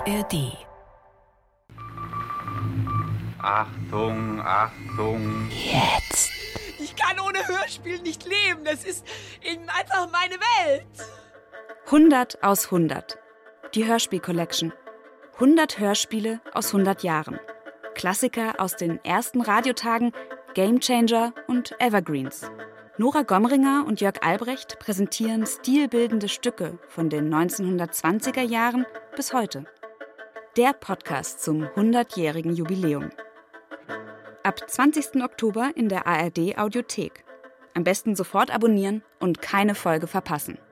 ARD. Achtung, Achtung. Jetzt. Ich kann ohne Hörspiel nicht leben. Das ist eben einfach meine Welt. 100 aus 100. Die Hörspiel-Collection. 100 Hörspiele aus 100 Jahren. Klassiker aus den ersten Radiotagen, Gamechanger und Evergreens. Nora Gomringer und Jörg Albrecht präsentieren stilbildende Stücke von den 1920er Jahren bis heute. Der Podcast zum 100-jährigen Jubiläum. Ab 20. Oktober in der ARD Audiothek. Am besten sofort abonnieren und keine Folge verpassen.